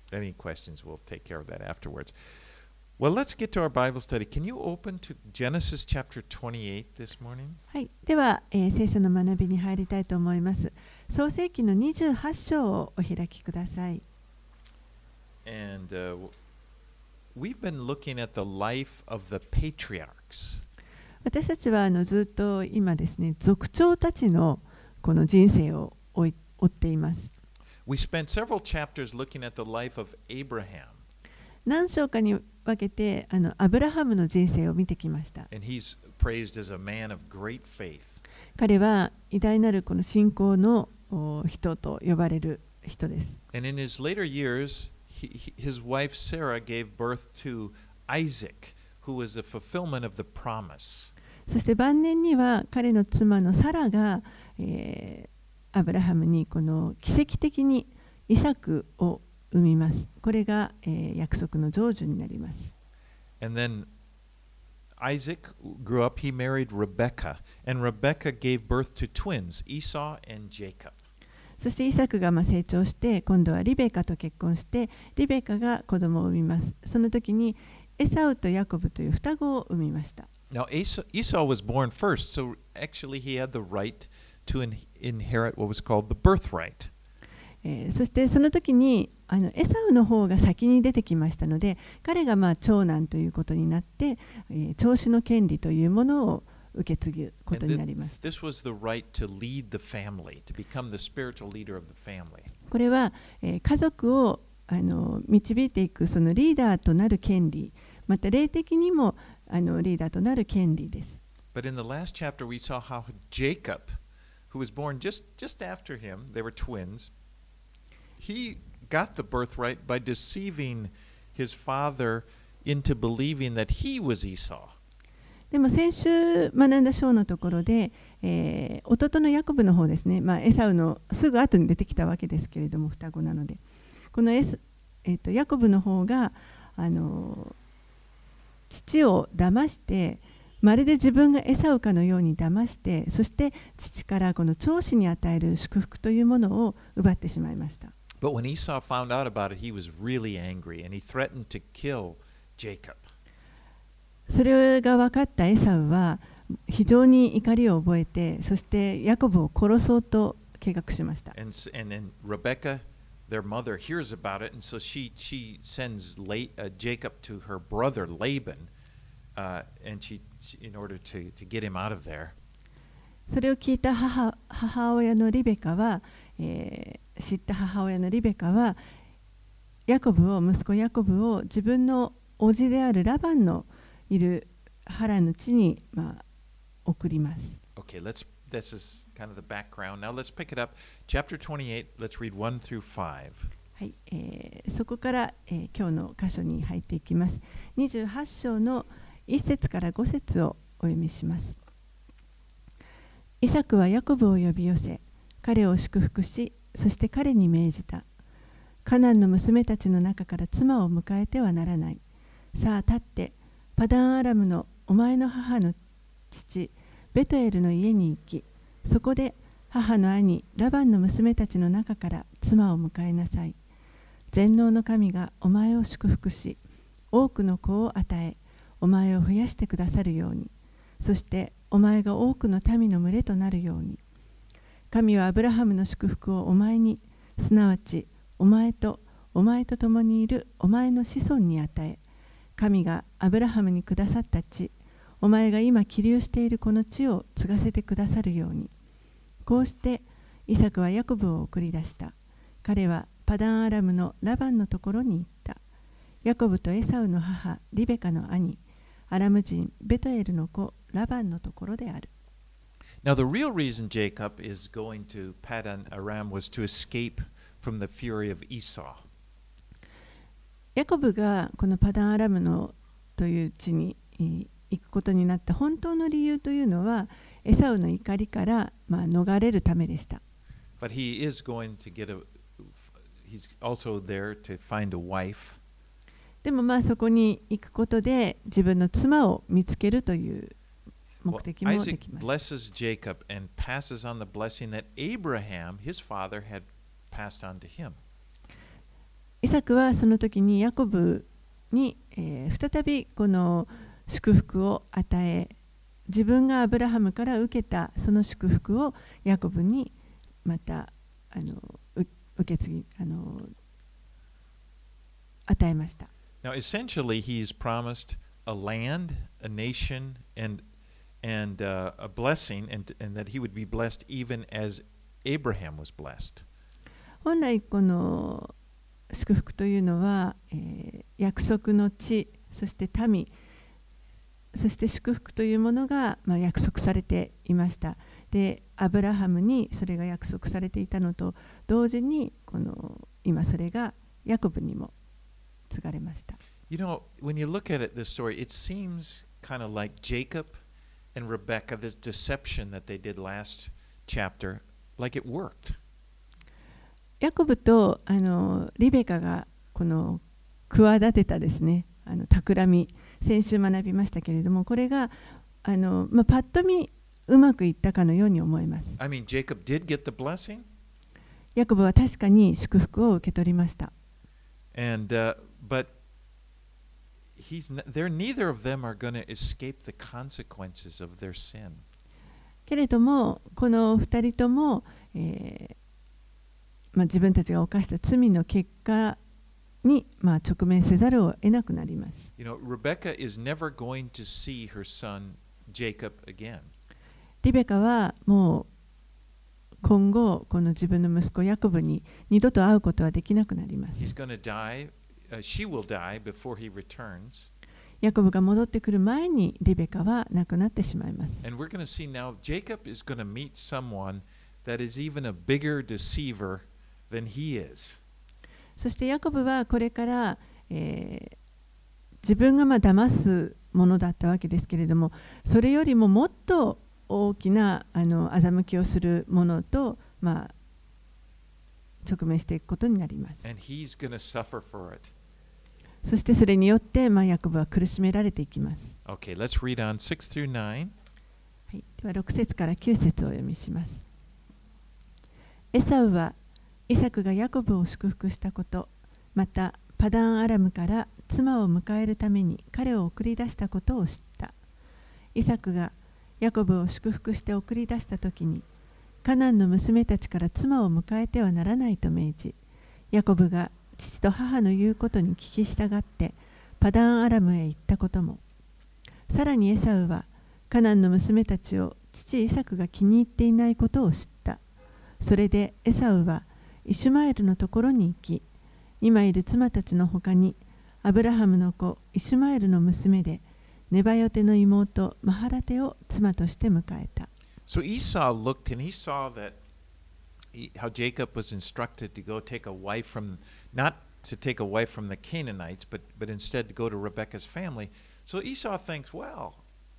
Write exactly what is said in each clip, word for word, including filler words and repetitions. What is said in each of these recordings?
any questions, we'll take care of that afterwards. Well, let's get to our Bible study. Can you open to Genesis chapter twenty-eight this morning? はい、では、えー聖書の学びに入りたいと思います。創世記のにじゅうはち章をお開きください。 And uh, we've been looking at the life of the patriarchs. 私たちはあのずっと今ですね、族長たちのこの人生を追い追っています。 We spent several chapters looking at the life of Abraham. 何章かに分けてあのアブラハムの人生を見てきました。 And he's praised as a man of great faith. 彼は偉大なるこの信仰のお人と呼ばれる人です。 And in his later years, he, he- his wife Sarah gave birth to Isaac, who was the fulfillment of the promise. そして晩年には彼の妻のサラが、えーアブラハムにこの奇跡的にイサクを生みます。これが、えー約束の成就になります。 And then Isaac grew up, he married Rebekah, and Rebekah gave birth to twins, Esau and Jacob. そしてイサクがまあ成長して今度はリベカと結婚してリベカが子供を産みます。その時にエサウとヤコブという双子を産みました。 Now, Esau, Esau was born first, so actually he had the right to in, inherit what was called the birthright. えーそしてその時にあのエサウの方が先に出てきましたので彼がまあ長男ということになって、えー長子の権利というものを受け継ぐことになりました。 This was the right to lead the family, to become the spiritual leader of the family. これは、えー家族をあの導いていくそのリーダーとなる権利また霊的にもあのリーダーとなる権利です。 But in the last chapter, we saw how Jacob, who was born just, just after him, they were twins, he got the birthright by deceiving his father into believing that he was Esau. でも先週学んだ章のところで、えー弟のヤコブの方ですね、まあ、エサウのすぐ後に出てきたわけですけれども双子なのでこのエス、えーとヤコブの方があの父を騙してまるで自分がエサウかのように騙してそして父からこの長子に与える祝福というものを奪ってしまいました。 But when Esau found out about it, he was really angry and he threatened to kill Jacob. それが分かったエサウは非常に怒りを覚えてそしてヤコブを殺そうと計画しました。 And, s- and then Rebekah, their mother, hears about it, and so she, she sends La- uh, Jacob to her brother Laban, uh, and she, she in order to, to get him out of there. それを聞いた母、母親のリベカは、えー知った母親のリベカはヤコブを息子ヤコブを自分の叔父であるラバンのいるハランの地に、まあ、送ります。 Okay, let's. This is kind of the background. Now let's pick it up. Chapter twenty-eight. Let's read one through five. はいえーそこから、えー今日の箇所に入っていきます。にじゅうはち章のいっ節からご節をお読みします。イサクはヤコブを呼び寄せ、彼を祝福し、そして彼に命じた。カナンの娘たちの中から妻を迎えてはならない。さあ立って、パダンアラムのお前の母の父、ベトエルの家に行き、そこで母の兄、ラバンの娘たちの中から妻を迎えなさい。全能の神がお前を祝福し、多くの子を与え、お前を増やしてくださるように、そしてお前が多くの民の群れとなるように。神はアブラハムの祝福をお前に、すなわちお前とお前と共にいるお前の子孫に与え、神がアブラハムにくださった地、お前が今起立しているこの地を継がせてくださるように。こうしてイサクはヤコブを送り出した。彼はパダンアラムのラバンのところに行った。ヤコブとエサウの母リベカの兄、アラム人ベトエルの子ラバンのところである。 Now, the real reason Jacob is going to Padan Aram was to escape from the fury of Esau. ヤコブがこのパダンアラムのという地にえー行くことになった本当の理由というのはエサウの怒りから、まあ、逃れるためでした。 But he is going to get a. He's also there to find a wife. でもまあそこに行くことで自分の妻を見つけるという目 Well, 的もで Isaac きます。 blesses Jacob and passes on the blessing that Abraham, his father, had passed on to him. イサクはその時にヤコブに、えー、再びこの祝福を与え、自分がアブラハムから受けたその祝福をヤコブにまたあの受け継ぎあの与えました。 Now, essentially, he's promised a land, a nation, and and uh, a blessing, and and that he would be blessed even as Abraham was blessed. 本来この祝福というのは、えー、約束の地、そして民、そして祝福というものが、まあ、約束されていました。で、アブラハムにそれが約束されていたのと同時に、この今それがヤコブにも継がれました。 You know, when you look at it, this story, it seems kind of like Jacob and Rebekah, this deception that they did last chapter, like it worked. ヤコブとあのリベカがこの企てたですね、あの企み、先週学びましたけれども、これがあの、まあ、パッと見うまくいったかのように思います。 I mean, Jacob did get the blessing. ヤコブは確かに祝福を受け取りました。 And, uh, but he's n- they're neither of them are going to escape the consequences of their sin. けれども、この二人とも、えーまあ、自分たちが犯した罪の結果に、まあ、直面せざるを得なくなります。 You know, Rebecca is never going to see her son Jacob again. リベカはもう今後この自分の息子ヤコブに二度と会うことはできなくなります。 He's going to die, uh, she will die before he returns. ヤコブが戻ってくる前にリベカは亡くなってしまいます。 And we're going to see now Jacob is going to meet someone that is even a bigger deceiver than he is. そしてヤコブはこれから、えー、自分がまあ騙すものだったわけですけれども、それよりももっと大きなあの欺きをするものと、まあ、直面していくことになります。 And he's going to suffer for it. そしてそれによって、まあ、ヤコブは苦しめられていきます。 Okay, let's read on six through nine. はい、ではろく節からきゅう節をお読みします。エサウはイサクがヤコブを祝福したこと、またパダンアラムから妻を迎えるために彼を送り出したことを知った。イサクがヤコブを祝福して送り出したときに、カナンの娘たちから妻を迎えてはならないと命じ、ヤコブが父と母の言うことに聞き従ってパダンアラムへ行ったことも、さらにエサウはカナンの娘たちを父イサクが気に入っていないことを知った。それでエサウはイシュマエルのところに行き、今いる妻たちのほかにアブラハムの子イシュマエルの娘でネバヨテの妹マハラテを妻として迎えた。 So Esau looked and he saw that he, how Jacob was instructed to go take a wife from, not to take a wife from the Canaanites, but, but instead to go to Rebekah's family. So Esau thinks, well,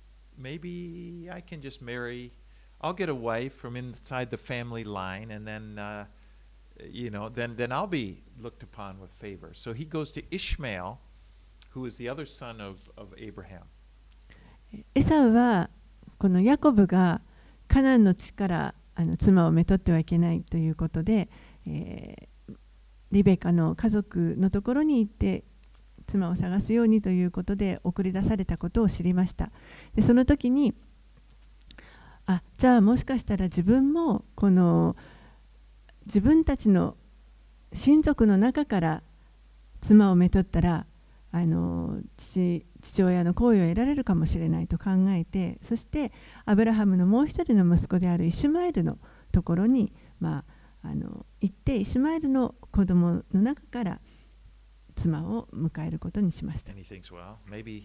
maybe I can just marry, I'll get a wife from inside the family line, and then, uh, you know, then, then I'll be looked upon with favor. So he goes to Ishmael, who is the other son of, of Abraham. エサウはこのヤコブがカナンの地からあの妻をめとってはいけないということで、えー、リベカの家族のところに行って妻を探すようにということで送り出されたことを知りました。でその時に、あ、じゃあもしかしたら自分もこの自分たちの親族の中から妻をめとったらあの 父, 父親の好意を得られるかもしれないと考えて、そしてアブラハムのもう一人の息子であるイシュマエルのところに、まあ、あの行ってイシュマエルの子供の中から妻を迎えることにしました。 Thinks, well,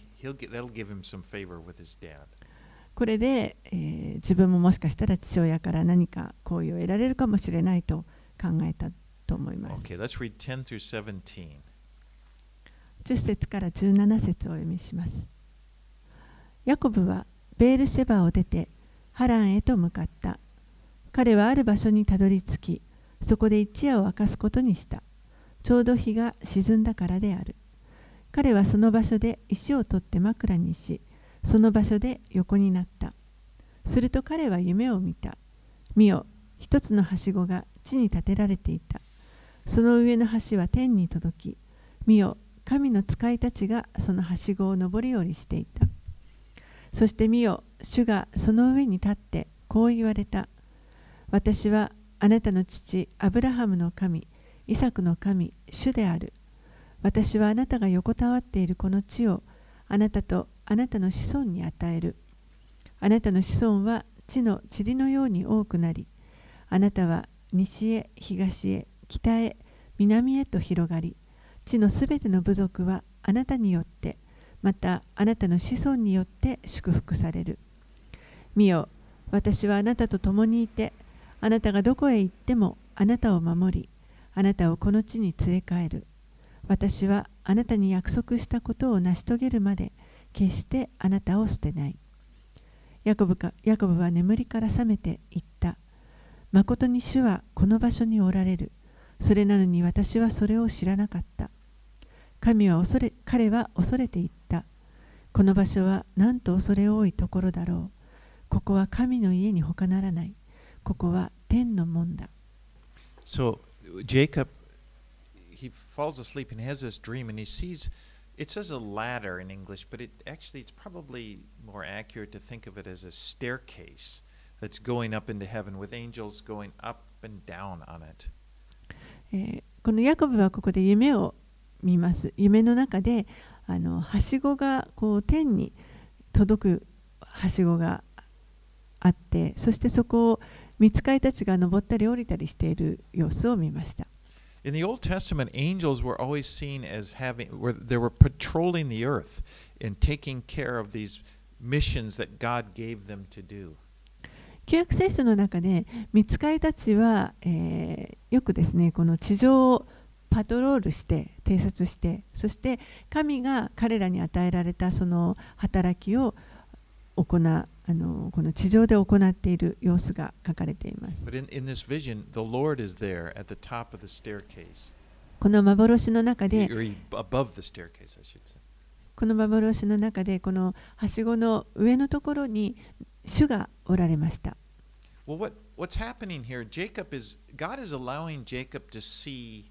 get, これで、えー、自分ももしかしたら父親から何か好意を得られるかもしれないと考えたと思います。 Okay, let's read ten through seventeen. じゅっ節からじゅうなな節をお読みします。ヤコブはベールシェバを出てハランへと向かった。彼はある場所にたどり着き、そこで一夜を明かすことにした。ちょうど日が沈んだからである。彼はその場所で石を取って枕にし、その場所で横になった。すると彼は夢を見た。見よ、一つのはしごが地に立てられていた。 その上の橋は天に届き、見よ、神の使いたちがそのはしごを上り下りしていた。そして見よ、主がその上に立ってこう言われた。私はあなたの父アブラハムの神、イサクの神、主である。私はあなたが横たわっているこの地をあなたとあなたの子孫に与える。あなたの子孫は地の塵のように多くなり、あなたは西へ東へ北へ南へと広がり、地のすべての部族はあなたによって、またあなたの子孫によって祝福される。見よ、私はあなたと共にいて、あなたがどこへ行ってもあなたを守り、あなたをこの地に連れ帰る。私はあなたに約束したことを成し遂げるまで、決してあなたを捨てない。ヤコブか、ヤコブは眠りから覚めて言った。まことに主はこの場所におられる。それなのに私はそれを知らなかった。神は恐れ、彼は恐れて言った。この場所はなんと恐れ多いところだろう。ここは神の家に他ならない。ここは天の門だ。 So Jacob, he falls asleep and has this dream, and he sees, it says a ladder in English, but it actually it's probably more accurate to think of it as a staircase that's going up into heaven with angels going up and down on it. えーこのヤコブはここで夢を見ます。夢の中であのはしごがこう天に届くはしごがあって、そしてそこを御使いたちが登ったり降りたりしている様子を見ました。 In the Old Testament, angels were always seen as having, where they were patrolling the earth and taking care of these missions that God gave them to do. 旧約聖書の中で御使いたちは、えーよくですね、この地上をパトロールして偵察して、そして神が彼らに与えられたその働きを行う、あのこの地上で行っている様子が書かれています。 But in, in this vision, the Lord is there at the top of the staircase, この幻の中で or he- above the staircase, I should say. この幻の中でこのはしごの上のところに主がおられました。 Well, what, what's happening here? Jacob is, God is allowing Jacob to see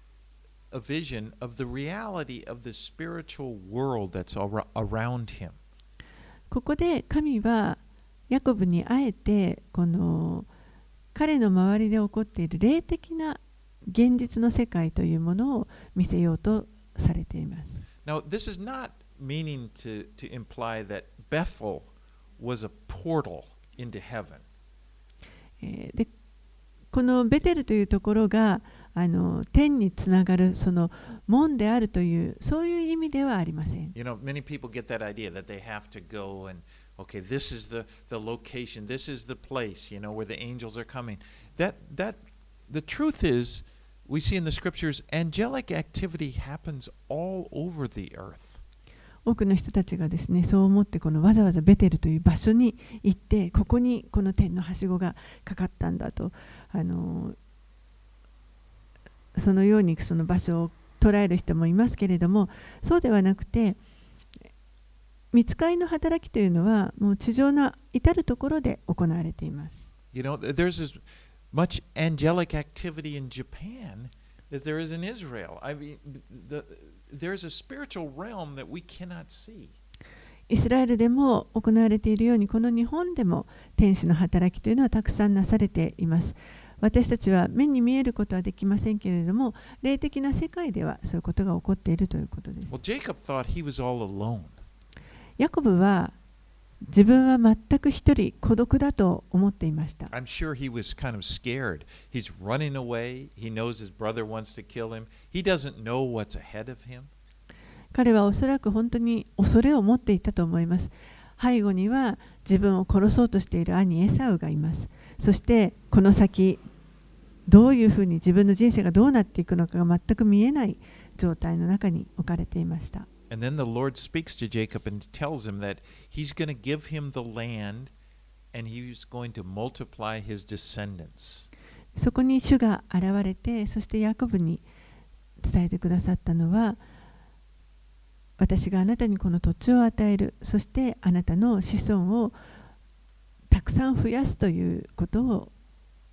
a vision of the reality of the spiritual world that's ar- around him. ここで神はヤコブにあえてこの彼の周りで起こっている霊的な現実の世界というものを見せようとされています。 Now, this is not meaning to, to imply that Bethel was a portal into heaven. えーでこのベテルというところがあの天につながるその門であるというそういう意味ではありません。 You know, many people get that idea that they have to go and, okay, this is the, the location, this is the place, you know, where the angels are coming. That, that, the truth is, we see in the scriptures, angelic activity happens all over the earth. 多くの人たちがですね、そう思ってこのわざわざベテルという場所に行って、ここにこの天のはしごがかかったんだと、あのそのようにその場所を捉える人もいますけれども、そうではなくて、御使いの働きというのはもう地上の至るところで行われています。 You know, there's as much angelic activity in Japan as there is in Israel. I mean, the, there's a spiritual realm that we cannot see. イスラエルでも行われているように、この日本でも天使の働きというのはたくさんなされています。私たちは目に見えることはできませんけれども、霊的な世界ではそういうことが起こっているということです。 Well, Jacob thought he was all alone. ヤコブは自分は全く一人孤独だと思っていました。 I'm sure he was kind of scared. He's running away. He knows his brother wants to kill him. He doesn't know what's ahead of him. 彼はおそらく本当に恐れを持っていたと思います。背後には自分を殺そうとしている兄エサウがいます。そしてこの先どういうふうに自分の人生がどうなっていくのかが全く見えない状態の中に置かれていました。 And then the Lord speaks to Jacob and tells him that he's going to give him the land and he's going to multiply his descendants. そこに主が現れて、そしてヤコブに伝えてくださったのは、私があなたにこの土地を与える、そしてあなたの子孫をたくさん増やすということを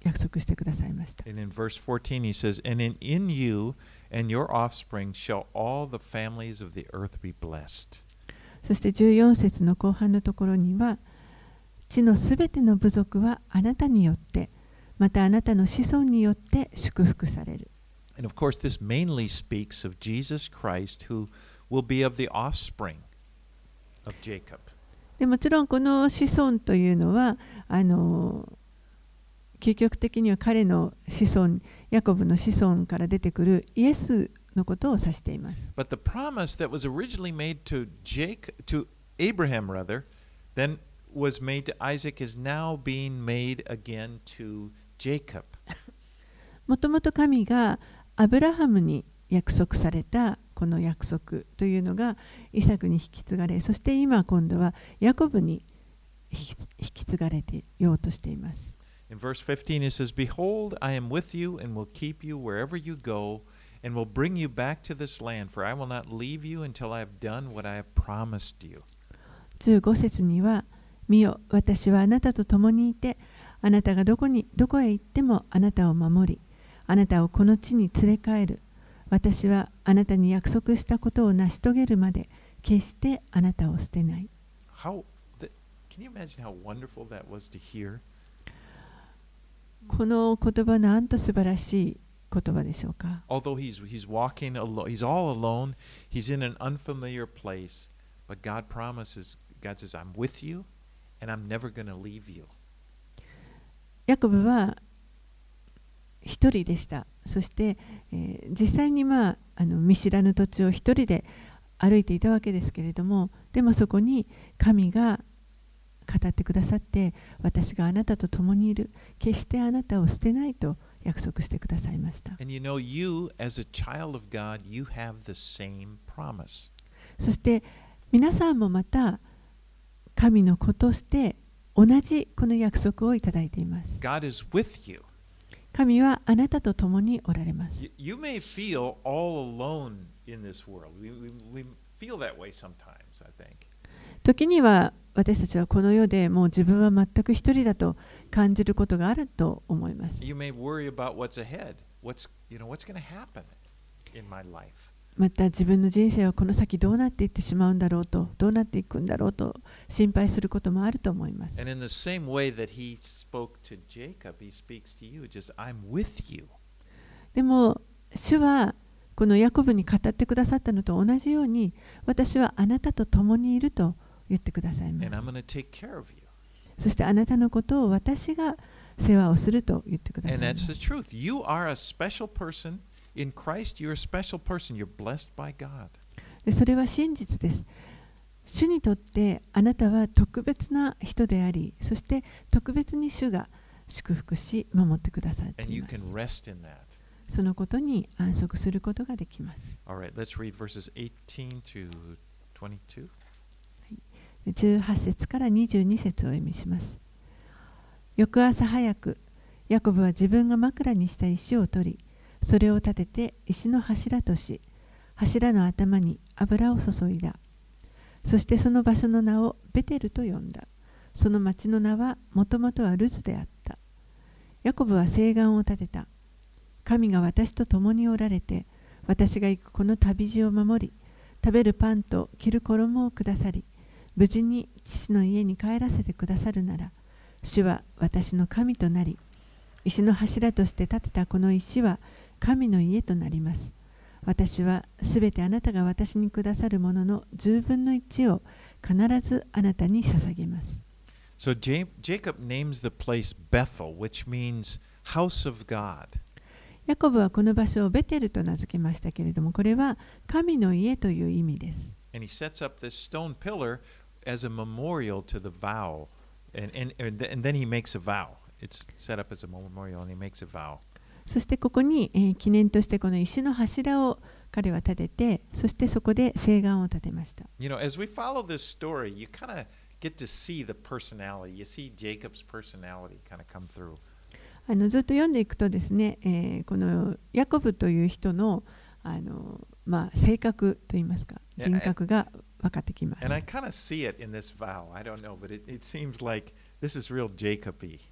約束してくださいました。 And in verse fourteen, he says, And in, in you and your offspring shall all the families of the earth be blessed. そしてじゅうよん節の後半のところには、地のすべての部族はあなたによって、またあなたの子孫によって祝福される。 And of course, this mainly speaks of Jesus Christ, who will be of the offspring of Jacob. でもちろんこの子孫というのは、あの究極的には彼の子孫、ヤコブの子孫から出てくるイエスのことを指しています。 But the promise that was originally made to Jacob, to Abraham rather, then was made to Isaac is now being made again to Jacob. もともと神がアブラハムに約束されたこの約束というのがイサクに引き継がれ、そして今今度はヤコブに引き継がれていようとしています。 In verse fifteen, it says, Behold, I am with you and will keep you wherever you go, and will bring you back to this land, for I will not leave you until I have done what I have promised you. じゅうご節には、見よ、私はあなたと共にいて、あなたがどこに、どこへ行ってもあなたを守り、あなたをこの地に連れ帰る。私はあなたに約束したことを成し遂げるまで、決してあなたを捨てない。 How, the, can you imagine how wonderful that was to hear? この言葉なんと素晴らしい言葉でしょうか。 Although he's, he's walking alone, he's all alone, he's in an unfamiliar place, but God promises, God says, I'm with you, and I'm never going to leave you. ヤコブは一人でした。そして、えー、実際に、まあ、あの見知らぬ土地を一人で歩いていたわけですけれども、でもそこに神が語ってくださって、私があなたと共にいる、決してあなたを捨てないと約束してくださいました。 And you know, you as a child of God, you have the same promise. そして皆さんもまた神の子として同じこの約束をいただいています。 God is with you. 神はあなたと共におられます。 You, you may feel all alone in this world. We, we, we feel that way sometimes, I think. 時には私たちはこの世でもう自分は全く一人だと感じることがあると思います。 You may worry about what's ahead. What's, you know, what's going to happen in my life. また自分の人生はこの先どうなっていってしまうんだろうと、どうなっていくんだろうと心配することもあると思います。 And in the same way that he spoke to Jacob, he speaks to you. Just, I'm with you. でも主はこのヤコブに語ってくださったのと同じように、私はあなたと共にいると言ってくださいます。 And I'm going to take care of you. そしてあなたのことを私が世話をすると言ってください And ま that's す。 the truth. You are a special person. In Christ, you're a special person. You're blessed by God. でそれは真実です。主にとってあなたは特別な人であり、そして特別に主が祝福し守ってくださって And い you ます。 can rest in that. そのことに安息することができます。 All right, let's read verses eighteen to twenty-two. じゅうはち節からにじゅうに節をお読みします。翌朝早く、ヤコブは自分が枕にした石を取り、それを立てて石の柱とし、柱の頭に油を注いだ。そしてその場所の名をベテルと呼んだ。その町の名はもともとはルズであった。ヤコブは誓願を立てた。神が私と共におられて、私が行くこの旅路を守り、食べるパンと着る衣をくださり、無事に父の家に帰らせてくださるなら、主は私の神となり、石の柱として建てたこの石は神の家となります。私はすべてあなたが私にくださるもののじゅうぶんのいちを必ずあなたに捧げます。 So Jacob names the place Bethel, which means house of God. ヤコブはこの場所をベテルと名付けましたけれども、これは神の家という意味です。 And he sets up this stone pillar as a memorial to the vow. And, and, and then he makes a vow. It's set up as a memorial and he makes a vow. そしてここに、えー、記念としてこの石の柱を彼は立てて、そしてそこで誓願を立てました。 You know, as we follow this story, you kind of get to see the personality. You see Jacob's personality kind of come through. あのずっと読んでいくとですね、えー、このヤコブという人の、あの、まあ、性格といいますか、人格が分かってきます。 And I kind of see it in this vow. I don't know, but it, it seems like this is real Jacob-y.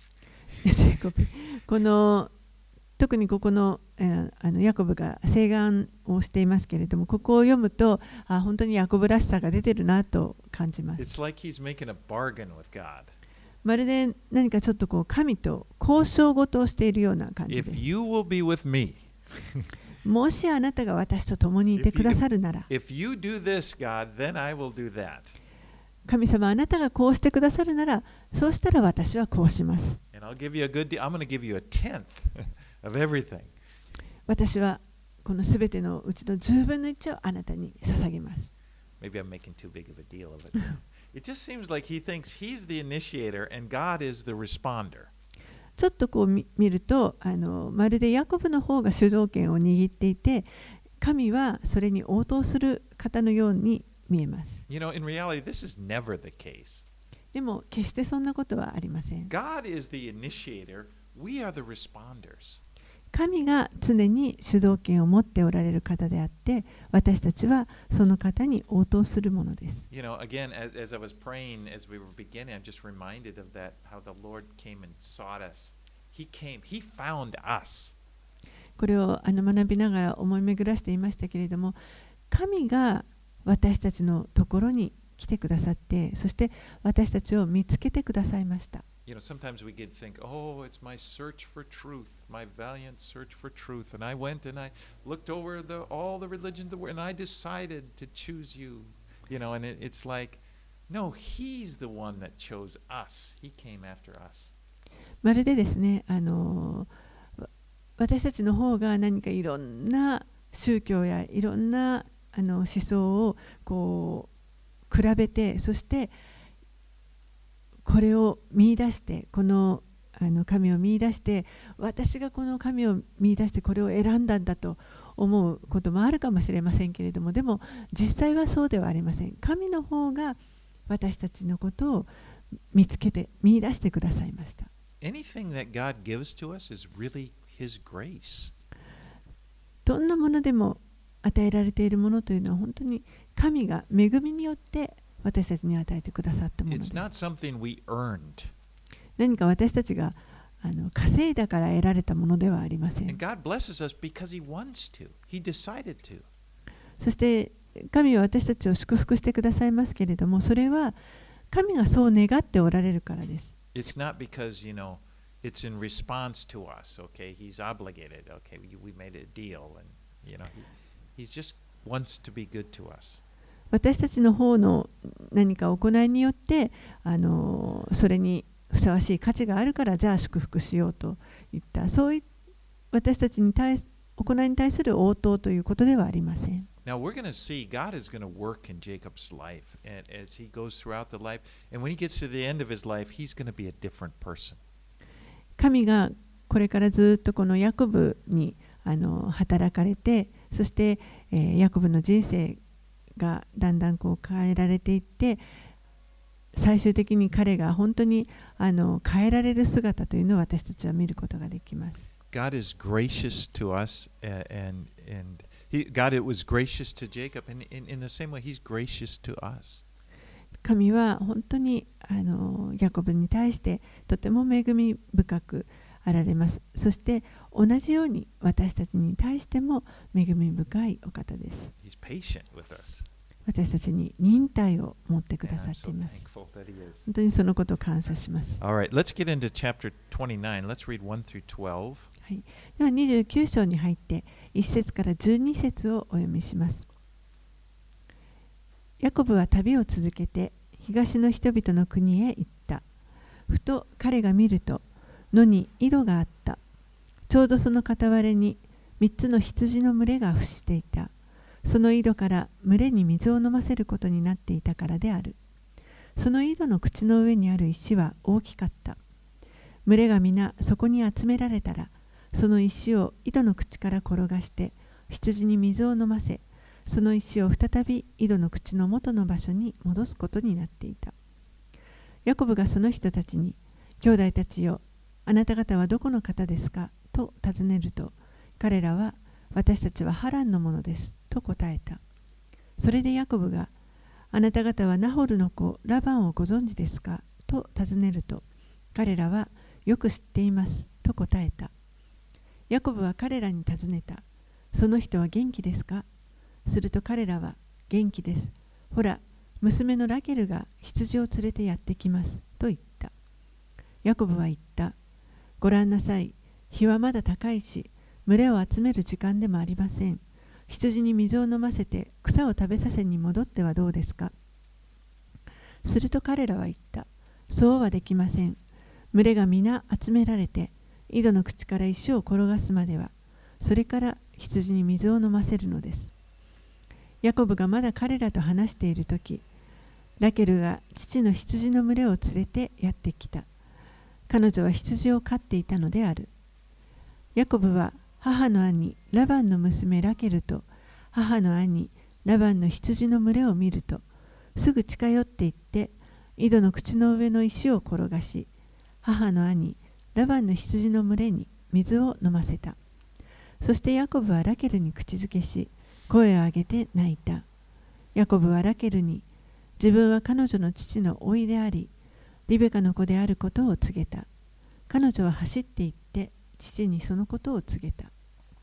ジェイコブこの特にここの、えー、あのヤコブが請願をしていますけれども、ここを読むとあ本当にヤコブらしさが出てるなと感じます。 It's like he's making a bargain with God. まるで何かちょっとこう神と交渉事をしているような感じ If です。 you will be with me, もしあなたが私と共にいてくださるなら、 if you do this, God, then I will do that. 神様あなたがこうしてくださるなら、そうしたら私はこうします。 And I'll give you a good deal. I'm going to give you a tenth of everything. 私はこのすべてのうちのじゅうぶんのいちをあなたに捧げます。 Maybe I'm making too big of a deal of it. It just seems like he thinks he's the initiator and God is the responder. ちょっとこう見るとあのまるでヤコブの方が主導権を握っていて、神はそれに応答する方のように見えます。 You know, in reality, this is never the case. でも決してそんなことはありません。 God is the initiator. We are the responders. 神が常に主導権を持っておられる方であって、私たちはその方に応答するものです。 You know, again, as, as I was praying, as we were beginning, I'm just reminded of that, how the Lord came and sought us. He came, He found us. これをあの学びながら思い巡らしていましたけれども、神が私たちのところに来てくださって、そして私たちを見つけてくださいました。 You know, sometimes we get think, oh, it's my search for truth, my valiant search for truth. And I went and I looked over the, all the religions of the world and I decided to choose you. You know, and it, it's like, no, He's the one that chose us. He came after us. まるでですね、あの私たちの方が何かいろんな宗教やいろんなあの思想をこう比べて、そしてこれを見出して、このあの神を見出して、私がこの神を見出してこれを選んだんだと思うこともあるかもしれませんけれども、でも実際はそうではありません。神の方が私たちのことを見つけて見出してくださいました。 Anything that God gives to us is really His grace. どんなものでも与えられているものというのは本当に神が恵みによって私たちに与えてくださったもので It's す。 not something we earned. 何か私たちがあの稼いだから得られたものではありません。 And God blesses us because He wants to. He decided to. そして神は私たちを祝福してくださいますけれども、それは神がそう願っておられるからです。 It's not because, you know, it's in response to us, okay? He's obligated, okay? We, we made a deal, and, you know, he, he just wants to be good to us. 私たちの方の何か行いによってあのそれにふさわしい価値があるからじゃあ祝福しようといった、そういう私たちに対す行いに対する応答ということではありません。 Now we're going to see God is going to work in Jacob's life, and as he goes throughout the life, and when he gets to the end of his life, he's going to be a different person. 神がこれからずっとこのヤコブにあの働かれて、そして、えー、ヤコブの人生がだんだんこう変えられていって、最終的に彼が本当にあの変えられる姿というのを私たちは見ることができます。 God is gracious to us, and, and, and he, God it was gracious to Jacob, and in, in the same way, he's gracious to us. 神は本当にあのヤコブに対してとても恵み深くあられます。そして同じように私たちに対しても恵み深いお方です。 He's patient with us. 私たちに忍耐を持ってくだ And さ I'm ってい so ます。 thankful that he is. 本当にそのことを感謝します。 All right, let's get into chapter twenty-nine. Let's read one through twelve. はい、ではにじゅうきゅう章に入っていち節からじゅうに節をお読みします。ヤコブは旅を続けて東の人々の国へ行った。ふと彼が見ると野に井戸があった。ちょうどその傍らに三つの羊の群れが伏していた。その井戸から群れに水を飲ませることになっていたからである。その井戸の口の上にある石は大きかった。群れが皆そこに集められたら、その石を井戸の口から転がして羊に水を飲ませ、その石を再び井戸の口の元の場所に戻すことになっていた。ヤコブがその人たちに、兄弟たちよ、あなた方はどこの方ですかと尋ねると、彼らは、私たちはハランのものですと答えた。それでヤコブが、あなた方はナホルの子ラバンをご存知ですかと尋ねると、彼らはよく知っていますと答えた。ヤコブは彼らに尋ねた。その人は元気ですか？すると彼らは、元気です。ほら、娘のラケルが羊を連れてやってきますと言った。ヤコブは言った。ご覧なさい。日はまだ高いし、群れを集める時間でもありません。羊に水を飲ませて草を食べさせに戻ってはどうですか？すると彼らは言った。そうはできません。群れが皆集められて、井戸の口から石を転がすまでは、それから羊に水を飲ませるのです。ヤコブがまだ彼らと話しているとき、ラケルが父の羊の群れを連れてやってきた。彼女は羊を飼っていたのである。ヤコブは母の兄ラバンの娘ラケルと母の兄ラバンの羊の群れを見ると、すぐ近寄っていって井戸の口の上の石を転がし、母の兄ラバンの羊の群れに水を飲ませた。そしてヤコブはラケルに口づけし、声を上げて泣いた。ヤコブはラケルに、自分は彼女の父の甥であり、リベカの子であることを告げた。彼女は走って行って父にそのことを告げた。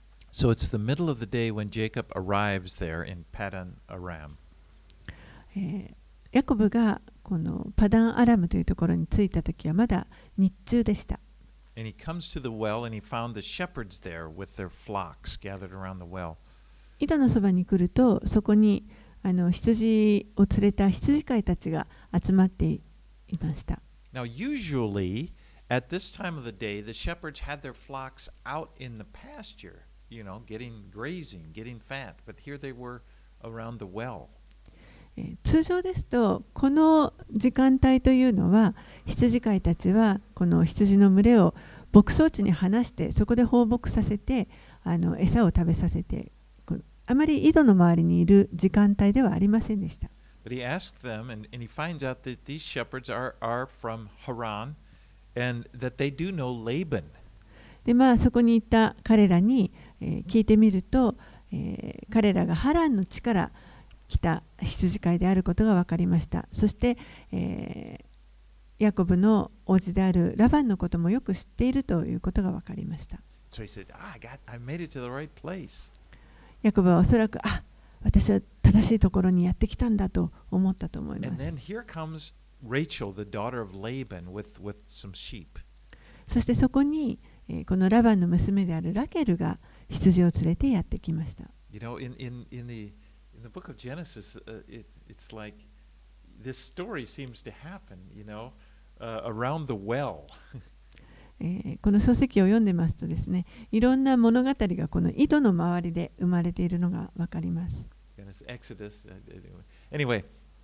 So it's the middle of the day when Jacob arrives there in Padan Aram. えーヤコブがこのパダンアラムというところに着いたときはまだ日中でした。 And he comes to the well and he found the shepherds there with their flocks gathered around the well. 井戸のそばに来ると、そこにあの羊を連れた羊飼いたちが集まっていました。 Now, usually at this time of the day, the shepherds had their flocks out in the pasture, you know, getting grazing, getting fat. But here they were around the well. えー通常ですと、この時間帯というのは、羊飼いたちはこの羊の群れを牧草地に放して、そこで放牧させて、あの餌を食べさせて、このあまり井戸の周りにいる時間帯ではありませんでした。 But he asked them, and, and he finds out that these shepherds are, are from Haran and that they do know Laban. で、まあ、そこにいた彼らに、えー聞いてみると、えー彼らがハランの地から来た羊飼いであることが分かりました。そして、えーヤコブの王子であるラバンのこともよく知っているということが分かりました。 So he said, ah, I got, I made it to the right place. ヤコブはおそらく、あ、私は正しいところにやってきたんだと思ったと思いま And す。 then here comes Rachel, the daughter of Laban, with, with some sheep. そしてそこに、えーこのラバンの娘であるラケルが羊を連れてやってきました。 You know, in, in, in, the, in the book of Genesis, uh, it, it's like this story seems to happen, you know, uh, around the well. えーこの書籍を読んでますとですね、いろんな物語がこの井戸の周りで生まれているのがわかります。 Genesis, Exodus. uh, Anyway,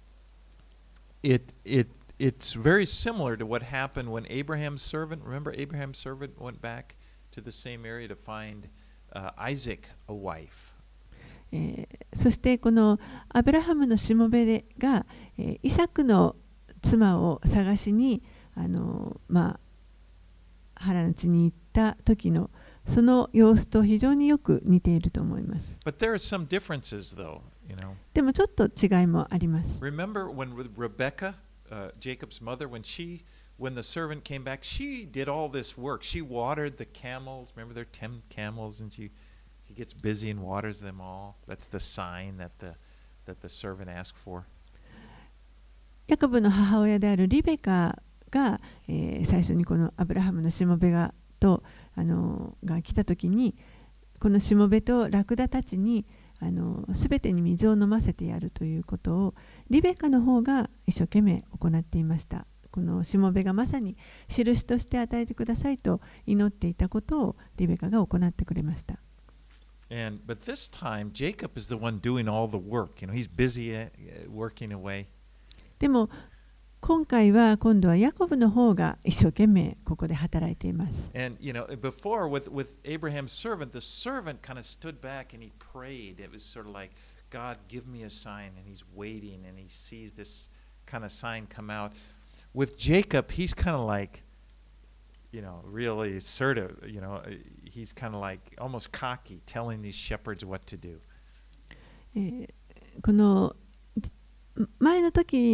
it, it, it's very similar to what happened when Abraham's servant, remember Abraham's servant went back to the same area to find uh, Isaac a wife. えーそしてこのアブラハムのしもべが、えーイサクの妻を探しにあの、まあ、ハランの地に行った時のその様子と非常によく似ていると思います。 But there are some differences, though, you know. でもちょっと違いもあります。 Remember when Re- Rebecca, uh, Jacob's mother, when she, when the servant came back, she did all this work. She watered the camels. Remember there are ten camels, and she, she gets busy and waters them all. That's the sign that the, that the servant asked for. ヤコブの母親であるリベカが、えー最初にこのアブラハムのしもべがとあのが来た時に、このしもべとラクダたちにあの全てに水を飲ませてやるということをリベカの方が一生懸命行っていました。このしもべがまさに印として与えてくださいと祈っていたことをリベカが行ってくれました。 And but this time Jacob is the one doing all the work. You know, he's busy uh, working away. でも今回は今度はヤコブの方が一生懸命ここで働いています。 And you know, before with with Abraham's servant, the servant kind of stood back and he prayed. It was sort of like, God, give me a sign, and he's waiting and he sees this kind of sign come out. With Jacob, he's kind of like, you know, really assertive. You know, he's kind of like almost cocky, telling these shepherds what to do. えーこの前の時の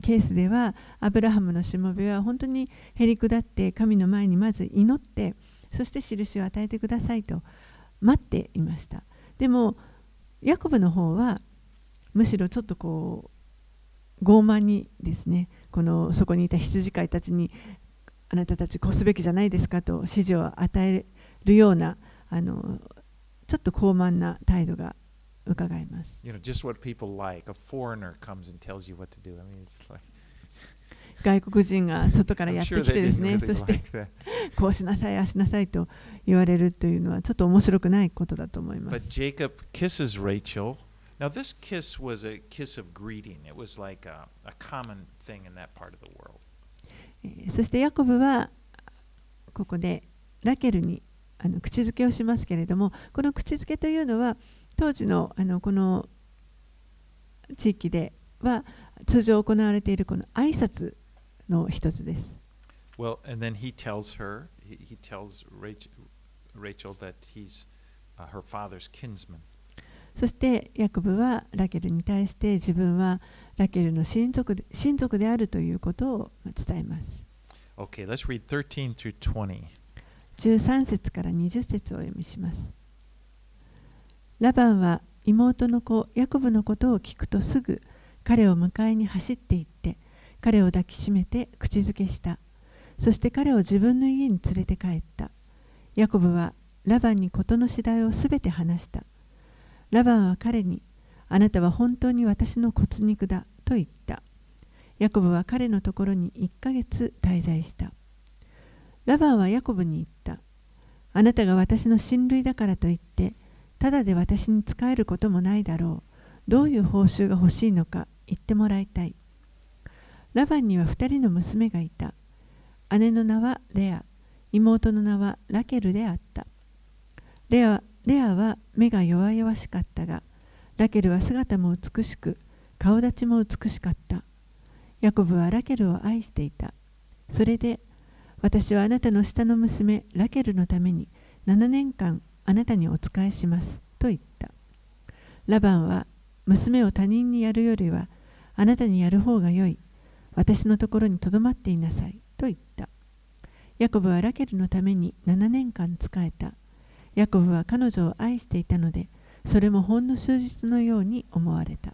ケースではアブラハムのしもべは本当にへりくだって神の前にまず祈って、そして印を与えてくださいと待っていました。でもヤコブの方はむしろちょっとこう傲慢にですね、このそこにいた羊飼いたちにあなたたちこうすべきじゃないですかと指示を与えるような、あのちょっと高慢な態度が伺えます。 You know, just what people like. A foreigner comes and tells you what to do. I mean, it's like 外国人が外から I'm やって sure き they てです didn't ね、 really そして like that. こうしなさい、ああしなさいと言われるというのはちょっと面白くないことだと思いま But す。 Jacob kisses Rachel. Now, this kiss was a kiss of greeting. It was like a, a common thing in that part of the world. えーそしてヤコブはここでラケルにあの口づけをしますけれども、この口づけというのは当時の、あのこの地域では通常行われているこの挨拶の一つです。 Well, and then he tells her, he, he tells Rachel, Rachel that he's uh, her father's kinsman. そしてヤコブはラケルに対して自分はラケルの親族で、親族であるということを伝えます。 Okay, let's read thirteen through twenty. じゅうさん節からにじゅう節をお読みします。ラバンは妹の子ヤコブのことを聞くとすぐ彼を迎えに走って行って彼を抱きしめて口づけした。そして彼を自分の家に連れて帰った。ヤコブはラバンに事の次第をすべて話した。ラバンは彼に、あなたは本当に私の骨肉だと言った。ヤコブは彼のところにいっかげつ滞在した。ラバンはヤコブに言った。あなたが私の親類だからといって、ただで私に仕えることもないだろう。どういう報酬が欲しいのか言ってもらいたい。ラバンには二人の娘がいた。姉の名はレア、妹の名はラケルであった。レアレアは目が弱々しかったが、ラケルは姿も美しく、顔立ちも美しかった。ヤコブはラケルを愛していた。それで、私はあなたの下の娘ラケルのためにななねんかんあなたにお仕えしますと言った。ラバンは、娘を他人にやるよりはあなたにやる方がよい。私のところにとどまっていなさいと言った。ヤコブはラケルのためにななねんかん仕えた。ヤコブは彼女を愛していたので、それもほんの数日のように思われた。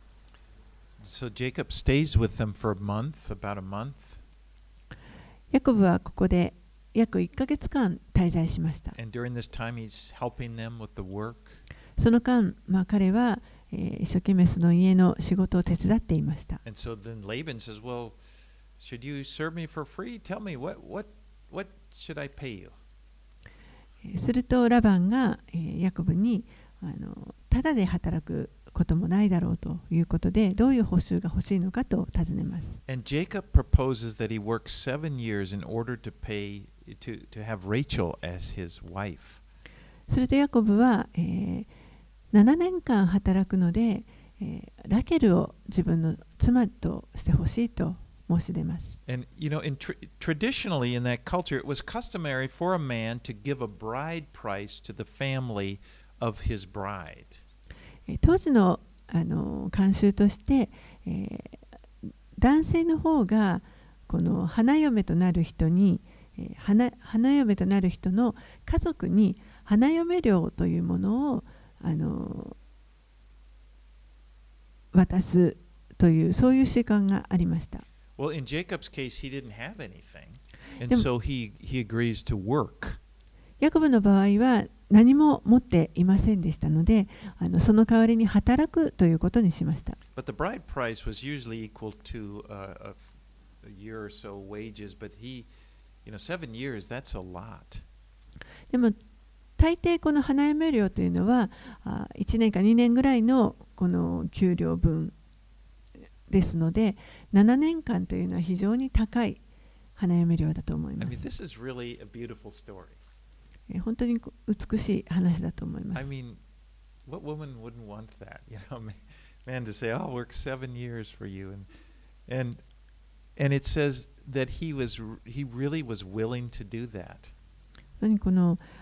So Jacob stays with them for a month, about a month. ヤコブはここで約いっかげつかん滞在しました。 And during this time, he's helping them with the work. その間、まあ、彼は、えー、一生懸命その家の仕事を手伝っていました。 And so then Laban says, Well, should you serve me for free? Tell me, what, what, what should I pay you? するとラバンが、えー、ヤコブにあのただで働くこともないだろうということで、どういう報酬が欲しいのかと尋ねます。 And Jacob proposes that he work seven years in order to pay to, to have Rachel as his wife. するとヤコブは、えー、ななねんかん働くので、えー、ラケルを自分の妻としてほしいと申し出ます。 And you know, in tra- traditionally in that culture, it was customary for a man to give a bride price to the family of his bride. 当時の、あの慣習として、えー、男性の方がこの花嫁となる人に、えー、花, 花嫁となる人の家族に花嫁料というものを、あの渡すというそういう習慣がありました。 Well, in Jacob's case, he didn't have anything, and so he, he agrees to work. ヤコブの場合は何も持っていませんでしたので、あのその代わりに働くということにしました。 But the bride price was usually equal to uh, a, a year or so wages, but he, you know, seven years, that's a lot. でも大抵この花嫁料というのはいちねんかにねんぐらいのこの給料分ですので、ななねんかんというのは非常に高い花嫁料だと思いま I す。 mean, this is really a beautiful story. 本当に美しい話だと思いま I す。 mean, what woman wouldn't want that? You know, man, man to say, "I'll work seven years for you," and and and it says that he was he really was willing to do that. 本当にこの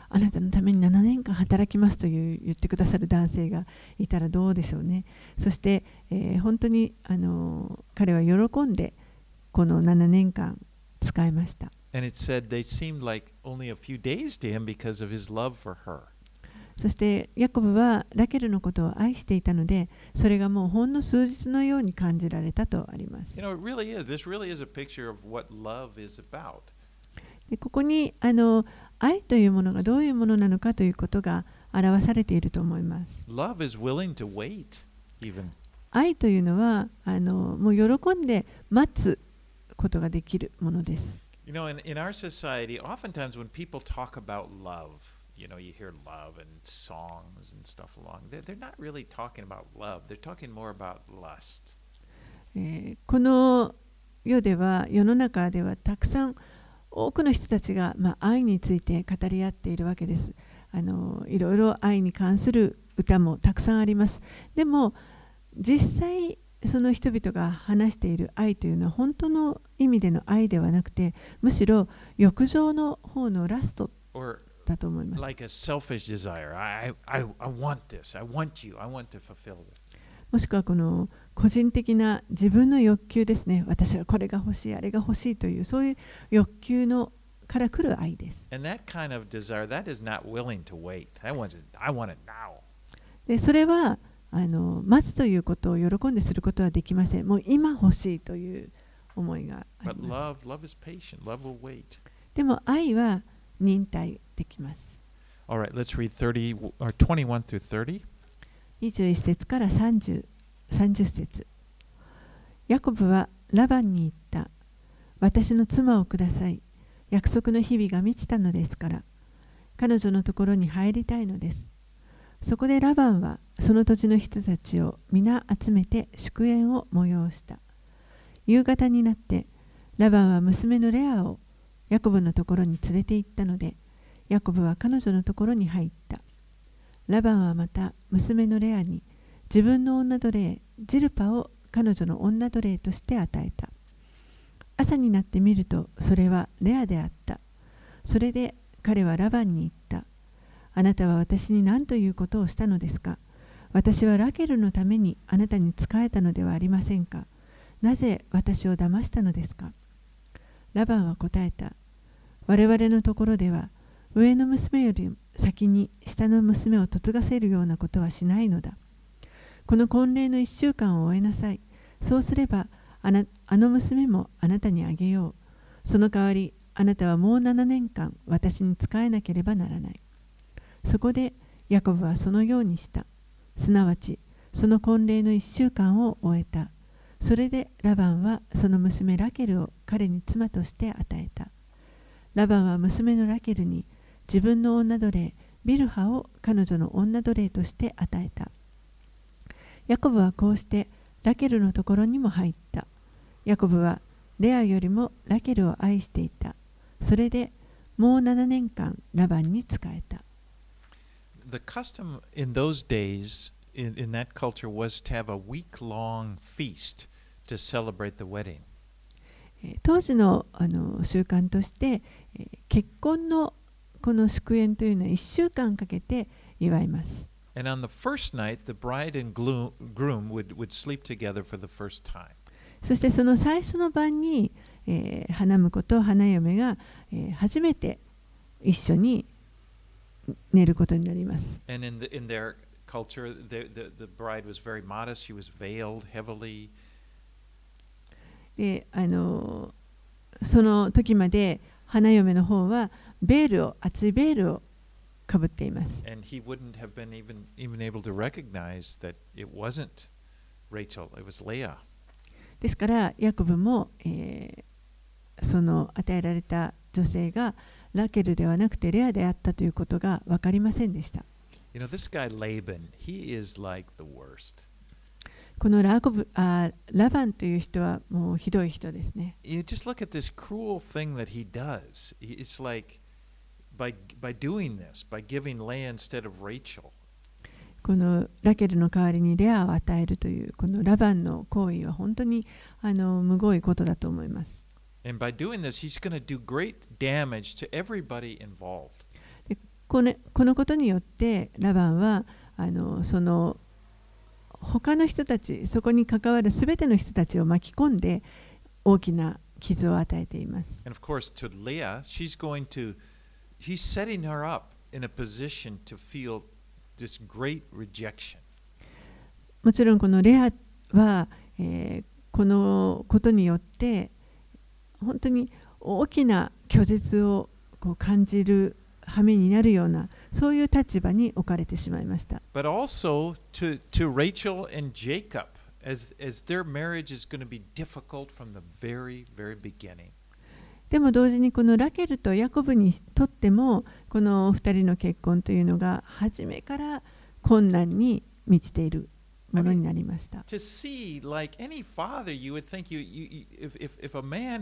あなたのためにななねんかん働きますという言ってくださる男性がいたらどうでしょうね。そして、えー、本当にあの彼は喜んでこのななねんかん使いました。 And it said they seemed like only a few days to him because of his love for her. そしてヤコブはラケルのことを愛していたので、それがもうほんの数日のように感じられたとあります。 You know, it really is. This really is a picture of what love is about. でここにあの愛というものがどういうものなのかということが表されていると思います。 Love is willing to wait, even. 愛というのはあのもう喜んで待つことができるものです。 You know, in, in our society, oftentimes when people talk about love, you know, you hear love and songs and stuff along. They're, they're not really talking about love. They're talking more about lust. えーこの世では、世の中ではたくさん多くの人たちが、まあ、愛について語り合っているわけです。あのいろいろ愛に関する歌もたくさんあります。でも実際その人々が話している愛というのは本当の意味での愛ではなくて、むしろ欲情の方のラスト Or だと思います。 like a selfish desire. I, I, I want this. I want you. I want to fulfill this. もしくはこの個人的な自分の欲求ですね。私はこれが欲しい、あれが欲しいというそういう欲求のから来る愛です。 And that kind of desire, that is not willing to wait. I want it, I want it now. でそれはあの待つということを喜んですることはできません。もう今欲しいという思いがあり But ます。 love, love is patient. Love will wait. でも愛は忍耐できます。 All right, let's read thirty or twenty-one through thirty. にじゅういち節からさんじゅう、さんじゅう節。ヤコブはラバンに言った。私の妻をください。約束の日々が満ちたのですから。彼女のところに入りたいのです。そこでラバンはその土地の人たちを皆集めて祝宴を催した。夕方になってラバンは娘のレアをヤコブのところに連れて行ったので、ヤコブは彼女のところに入った。ラバンはまた娘のレアに自分の女奴隷ジルパを彼女の女奴隷として与えた。朝になってみるとそれはレアであった。それで彼はラバンに言った。あなたは私に何ということをしたのですか。私はラケルのためにあなたに仕えたのではありませんか。なぜ私を騙したのですか。ラバンは答えた。我々のところでは上の娘より先に下の娘を嫁がせるようなことはしないのだ。この婚礼の一週間を終えなさい。そうすればあな、あの娘もあなたにあげよう。その代わりあなたはもうななねんかん私に仕えなければならない。そこでヤコブはそのようにした。すなわちその婚礼の一週間を終えた。それでラバンはその娘ラケルを彼に妻として与えた。ラバンは娘のラケルに自分の女奴隷ビルハを彼女の女奴隷として与えた。ヤコブはこうしてラケルのところにも入った。ヤコブはレアよりもラケルを愛していた。それでもうななねんかんラバンに仕えた。 The custom in those days in, in that culture was to have a week-long feast to celebrate the wedding. えー当時の、あの習慣として、えー結婚のこの祝宴というのはいっしゅうかんかけて祝います。 And on the first night, the bride and gloom, groom would, would sleep together for the first time. そしてその最初の晩に、えー花婿と花嫁が、えー初めて一緒に寝ることになります。 And in, the, in their culture, the, the, the bride was very modest. She was veiled heavily. で、あのその時まで花嫁の方はベールを厚いベールをかぶっています。 And he wouldn't have been even, even able to recognize that it wasn't Rachel, it was Leah. ですからヤコブも、えーその与えられた女性がラケルではなくてレアであったということが分かりませんでした。 You know, this guy Laban, he is like the worst. このラコブあラバンという人はもうひどい人ですね。 You just look at this cruel thing that he does. It's like by, by doing this, by giving Leah instead of Rachel. このラケルの代わりにレアを与えるというこのラバンの行為は本当にあのむごいことだと思います。 And by doing this, he's going to do great damage to everybody involved. この、このことによってラバンはあのその他の人たち、そこに関わるすべての人たちを巻き込んで大きな傷を与えています。 And of course, to Leah, she's going to, he's setting her up in a position to feel this great rejection. もちろんこのレアは、えー、このことによって本当に大きな拒絶をこう感じる羽目になるようなそういう立場に置かれてしまいました。 But also to, to Rachel and Jacob, as, as their marriage is going to be difficult from the very, very beginning. でも同時にこのラケルとヤコブにとってもこの二人の結婚というのが初めから困難に満ちているものになりました。 To see, like any father, you would think you, you, if, if, if a man,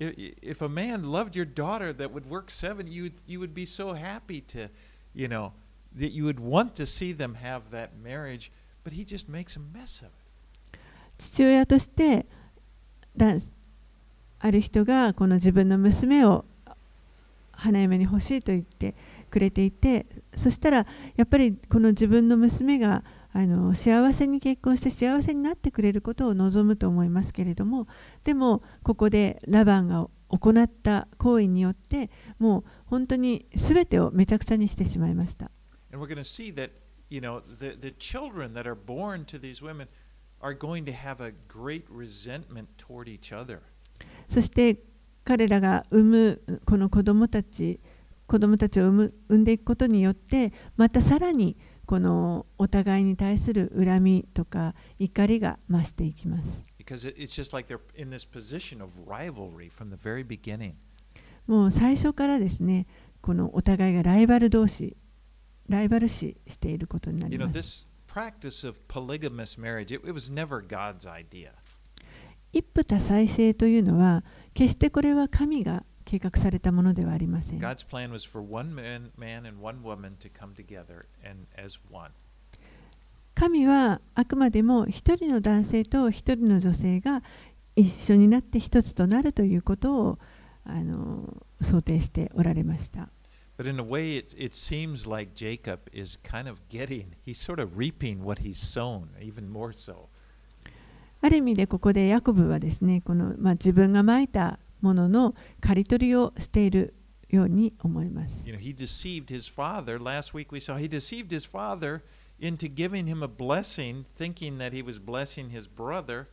if a man loved your daughter that would work seven, you, you would be so happy to, you know, that you would want to see them have that marriage, but he just makes a mess of it. 父親としてだある人がこの自分の娘を花嫁に欲しいと言ってくれていて、そしたらやっぱりこの自分の娘があの幸せに結婚して幸せになってくれることを望むと思いますけれども、でもここでラバンが行った行為によってもう本当に全てをめちゃくちゃにしてしまいました。 And we're going to see that, you know, the, the children that are born to these women are going to have a great resentment toward each other. そして彼らが産むこの子供たち、子供たちを産む、産んでいくことによってまたさらにこのお互いに対する恨みとか怒りが増していきます。 Because it's just like they're in this position of rivalry from the very beginning. もう最初からですね、このお互いがライバル同士、ライバル視していることになり You know, ます。 this practice of polygamous marriage, it, it was never God's idea. 一夫多妻制というのは決してこれは神が計画されたものではありません。 God's plan was for one man, man and one woman to come together and as one. 神はあくまでも一人の男性と一人の女性が一緒になって一つとなるということをあの想定しておられました。 But in a way, it, it seems like Jacob is kind of getting, he's sort of reaping what he's sown, even more so. ある意味でここでヤコブはですね、この、まあ、自分がまいたものの刈り取りをしているように思います。 You know, he deceived his father. Last week we saw he deceived his father into giving him a blessing, thinking that he was blessing his brother,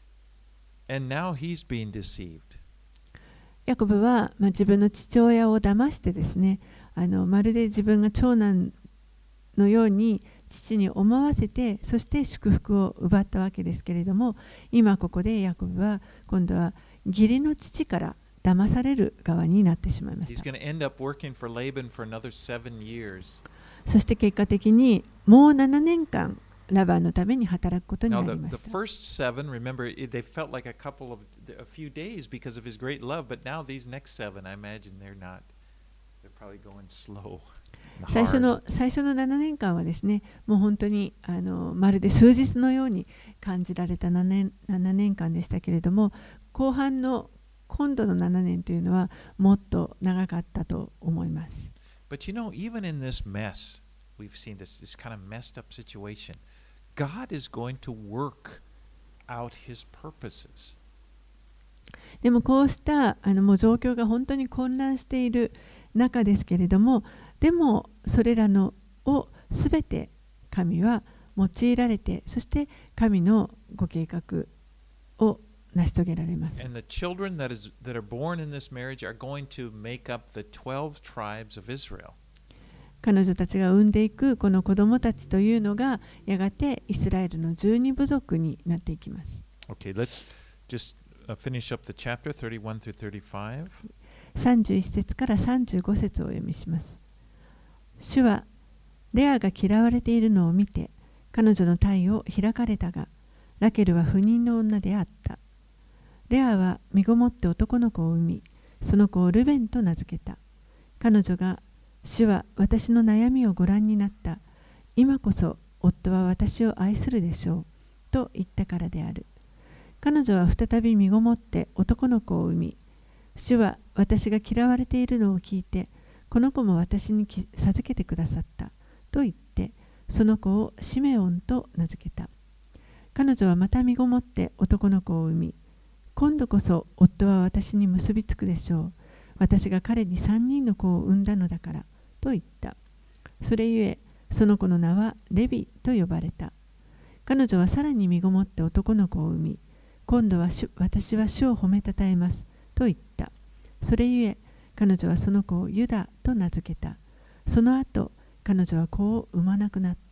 and now he's being deceived. ヤコブは、まあ、自分の父親を騙してですね、あのまるで自分が長男のように父に思わせて、そして祝福を奪ったわけですけれども、今ここでヤコブは今度は義理の父から騙される側になってしまいました。そして結果的にもうななねんかんラバンのために働くことになりました。 Now, the, the first seven, remember, they felt like a couple of a few days because of his great love, but now these next seven, I imagine they're not. They're probably going slow. 最初の最初のななねんかんはですね、もう本当にあのまるで数日のように感じられたななねんかんでしたけれども、後半の今度のななねんというのはもっと長かったと思います。 But you know, even in this mess, we've seen this, this kind of messed up situation. God is going to work out his purposes. でもこうしたあのもう状況が本当に混乱している中ですけれども、でもそれらのをすべて神は用いられて、そして神のご計画を成し遂げられます。 And the children that is that are born in this marriage are going to make up the twelve tribes of Israel. 彼女たちが産んでいくこの子供たちというのがやがてイスラエルのじゅうに部族になっていきます。 Okay, let's just finish up the chapter thirty-one through thirty-five. さんじゅういち節からさんじゅうご節をお読みします。主はレアが嫌われているのを見て彼女の体を開かれたが、ラケルは不妊の女であった。レアは身ごもって男の子を産み、その子をルベンと名付けた。彼女が主は私の悩みをご覧になった。今こそ夫は私を愛するでしょう。と言ったからである。彼女は再び身ごもって男の子を産み、主は私が嫌われているのを聞いて、 この子も私に授けてくださったと言って、その子をシメオンと名付けた。彼女はまた身ごもって男の子を産み、今度こそ夫は私に結びつくでしょう。私が彼に三人の子を産んだのだからと言った。それゆえ、その子の名はレビと呼ばれた。彼女はさらに身ごもって男の子を産み、今度は主私は主を褒めたたえますと言った。それゆえ、彼女はその子をユダと名付けた。その後、彼女は子を産まなくなった。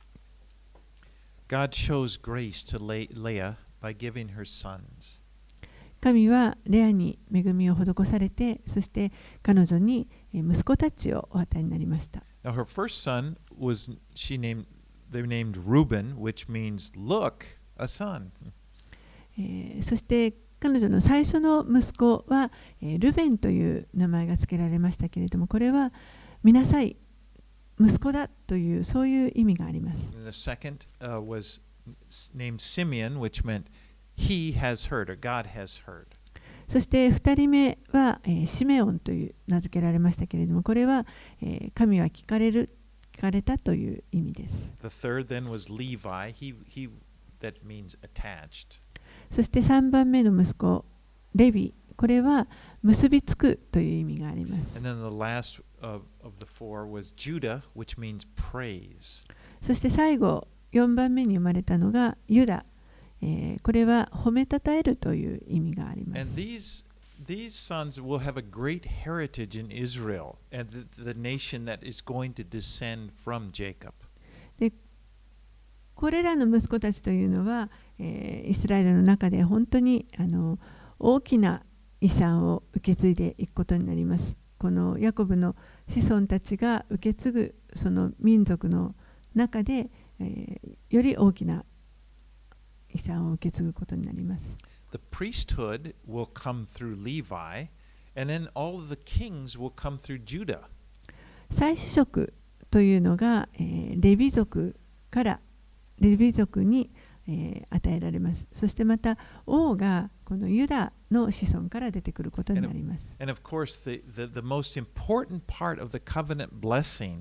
God shows grace to Leah by giving her sons. 神はレアに恵みを施されて、そして彼女に息子たちをお与えになりました。 Now her first son was she named they named Reuben, which means look, a son. えー、そして彼女の最初の息子は、えー、ルベンという名前が付けられましたけれども、これは見なさい、息子だというそういう意味があります。 And the second、uh, was named Simeon, which meant he has heard or God has heard. そしてふたりめは、えー、シメオンという名付けられましたけれども、これは、えー、神は聞かれる聞かれたという意味です。 The third then was Levi. He he that means attached. そしてさんばんめの息子レビ、これは結びつくという意味があります。 And then the last of, of the four was Judah, which means praise. そして最後よんばんめに生まれたのがユダ、えー、これは褒めたたえるという意味があります。 And these these sons will have a great heritage in Israel and the, the nation that is going to descend from Jacob. でこれらの息子たちというのは、えー、イスラエルの中で本当にあの大きな遺産を受け継いでいくことになります。このヤコブの子孫たちが受け継ぐその民族の中で、えー、より大きな遺産を受け継ぐことになります。 The priesthood will come through Levi, and then all of the kings will come through Judah. 祭司職というのが、えー、レビ族からレビ族に、えー、与えられます。そしてまた王がこのユダの子孫から出てくることになります。 And of course, the, the, the most important part of the covenant blessing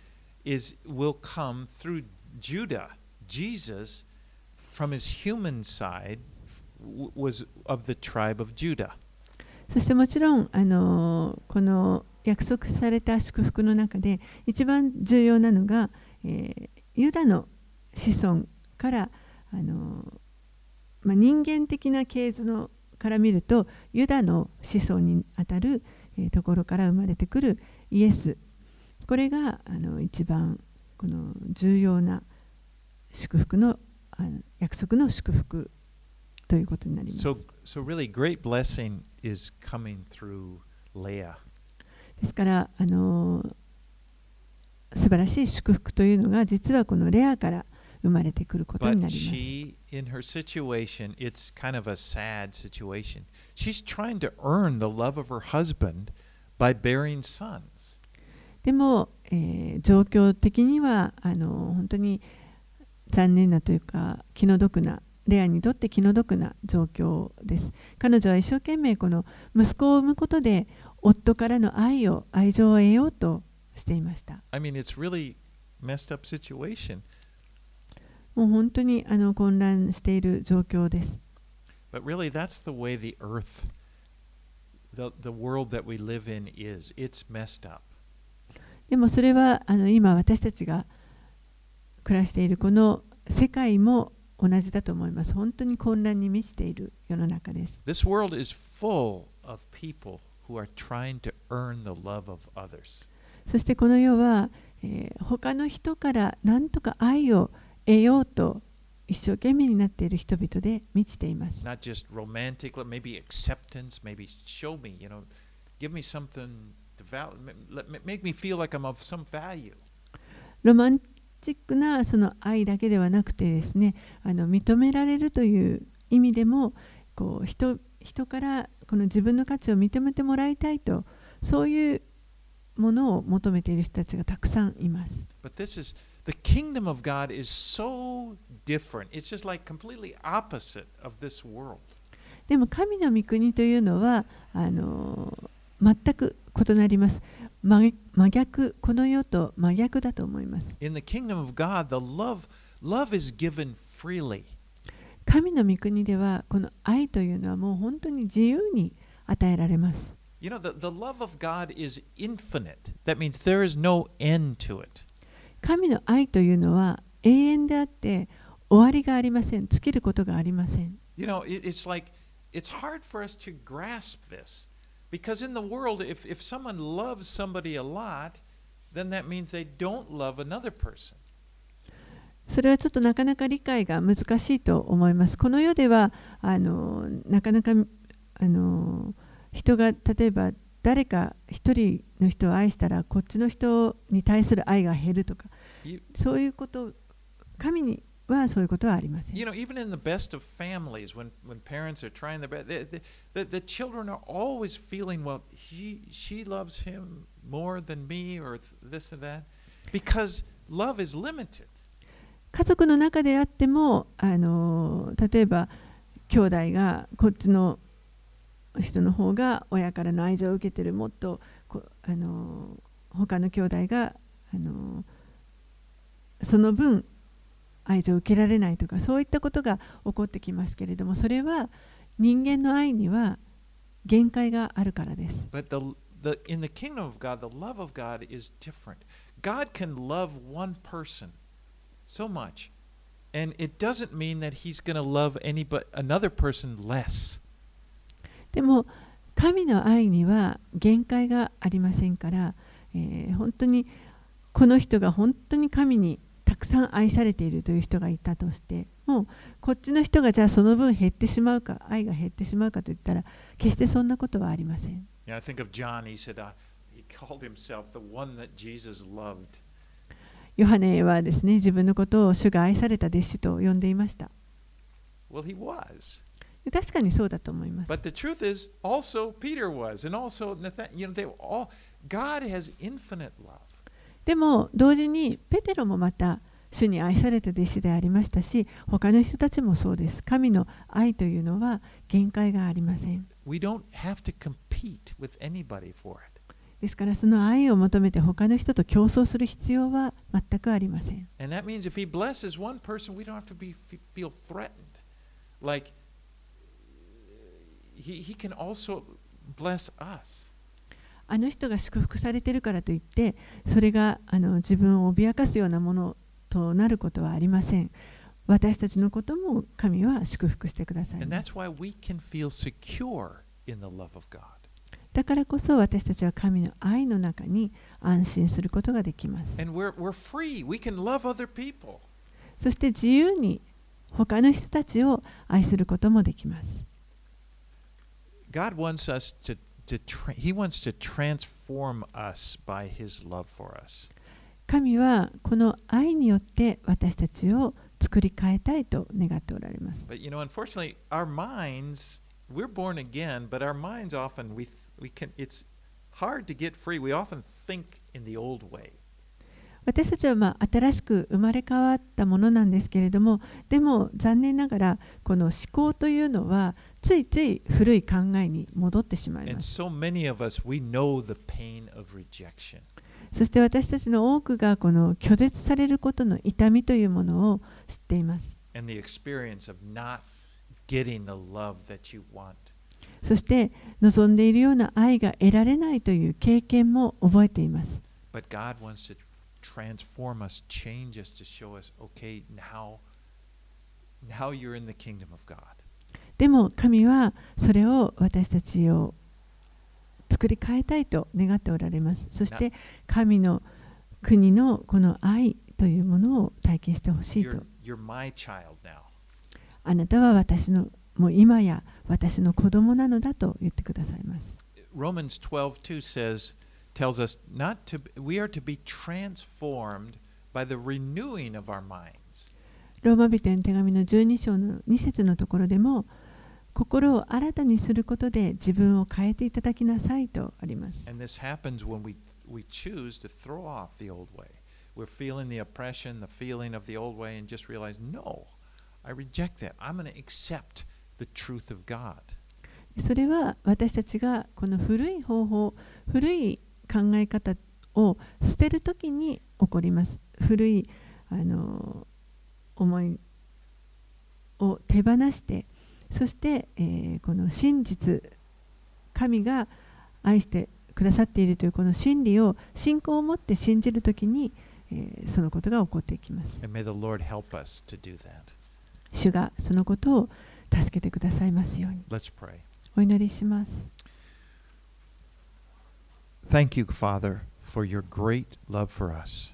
is will come through Judah. Jesus, from his human side, was of the tribe of Judah. そしてもちろん、あのこの約束された祝福の中で一番重要なのが、えー、ユダの子孫からあの、まあ、人間的な系図のから見るとユダの子孫にあたる、えー、ところから生まれてくるイエス、これがあの一番この重要な祝福の、あの約束の祝福ということになります。 So, so really great blessing is coming through Leah. ですからあの素晴らしい祝福というのが実はこのレアから生まれてくることにな But ります。 she, in her situation, it's kind of a sad situation. She's trying to earn the love of her husband by bearing sons. でも、えー、状況的にはあの本当に残念なというか気の毒な、レアにとって気の毒な状況です。彼女は一生懸命この息子を産むことで夫からの愛を愛情を得ようとしていました。 I mean, it's really messed up situation. もう本当にあの混乱している状況です。 But really, that's the way the earth, the, the world that we live in is. It's messed up. でもそれはあの今私たちが暮らしているこの世界も同じだと思います。本当に混乱に満ちている世の中です。 This world is full of people who are trying to earn the love of others. そしてこの世は、えー、他の人から何とか愛を得ようと一生懸命になっている人々で満ちています。 Not just romantic, maybe acceptance, maybe show me, you know, give me something to value, make me feel like I'm of some value. ロマンチックなその愛だけではなくてですね、あの認められるという意味でもこう 人, 人からこの自分の価値を認めてもらいたいと、そういうものを求めている人たちがたくさんいます。 But this is the kingdom of God is so different. It's just like completely opposite of this world. でも神の御国というのはあの全く異なります。 真真逆、この世と真逆だと思います。 In the kingdom of God, the love, love is given freely. 神の御国ではこの愛というのはもう本当に自由に与えられます。 You know, the, the love of God is infinite. That means there is no end to it. 神の愛というのは永遠であって終わりがありません。尽きることがありません。 You know, it, it's like, it's hard for us to grasp this. Because in the world, if, if someone loves somebody a lot, then that means they don't love another person. それはちょっとなかなか理解が難しいと思います。この世ではあのなかなかあの人が例えば誰か一人の人を愛したらこっちの人に対する愛が減るとか、そういうこと、神にはそういうことはありません。 You know, even in the best of families, when, when parents are trying their best, the, the, the children are always feeling, well, he, she loves him more than me, or this and that, because love is limited. 家族の中であっても、あの例えば兄弟がこっちの人の方が親からの愛情を受けてる、もっとこあの他の兄弟があのその分愛情を受けられないとか、そういったことが起こってきますけれども、それは人間の愛には限界があるからです。 But the, the, in the kingdom of God, the love of God is different. God can love one person so much, and it doesn't mean that he's going to love any but another person less. でも神の愛には限界がありませんから、えー、本当にこの人が本当に神にたくさん愛されているという人がいたとしても、こっちの人がじゃあその分減ってしまうか、愛が減ってしまうかといったら決してそんなことはありません。 Yeah, I think of John. He said uh, he called himself the one that Jesus loved. ヨハネはですね、自分のことを主が愛された弟子と呼んでいました。 Well, he was. 確かにそうだと思います。 But the truth is, also Peter was, and also Nathan. You know, they all. God has infinite love. でも同時にペテロもまた主に愛された弟子でありましたし、他の人たちもそうです。神の愛というのは限界がありません。 We don't have to compete with anybody for it. ですからその愛を求めて他の人と競争する必要は全くありません。 And that means if he blesses one person, we don't have to be feel threatened. Like he he can also bless us. あの人が祝福されているからといって、それがあの自分を脅かすようなものとなることはありません。私たちのことも神は祝福してください。 And that's why we can feel secure in the love of God. だからこそ私たちは神の愛の中に安心することができます。 And we're, we're free. We can love other people. そして自由に他の人たちを愛することもできます。 God wants us to, to tra- He wants to transform us by His love for us. 神はこの愛によって私たちを作り変えたいと願っておられます。 But you know, unfortunately, our minds, we're born again, but our minds often, we, we can, it's hard to get free. We often think in the old way. 私たちはまあ新しく生まれ変わったものなんですけれども、でも残念ながらこの思考というのはついつい古い考えに戻ってしまい And ます。 so many of us, we know the pain of rejection. そして私たちの多くがこの拒絶されることの痛みというものを知っています。 And the experience of not getting the love that you want. そして望んでいるような愛が得られないという経験も覚えています。 But God wants to transform us, change us to show us, okay, now, now you're in the kingdom of God. でも神はそれを私たちを作り変えたいと願っておられます。そして神の国のこの愛というものを体験してほしいと。 You're, you're my child now. あなたは私のもう今や私の子供なのだと言ってくださいます。 Romans twelve two says, tells us not to, we are to be transformed by the renewing of our minds. ローマ人への手紙のじゅうに章のに節のところでも、心を新たにすることで自分を変えていただきなさいとあります。 And this happens when we, we choose to throw off the old way. We're feeling the oppression, the feeling of the old way, and just realize, no, I reject that. I'm going to accept the truth of God. それは私たちがこの古い方法、古い考え方を捨てるときに起こります。古いあの思いを手放して、そして、えー、この真実、神が愛してくださっているというこの真理を信仰を持って信じるときに、えー、そのことが起こっていきます。主がそのことを助けてくださいますように。お祈りします。 Thank you, Father, for your great love for us.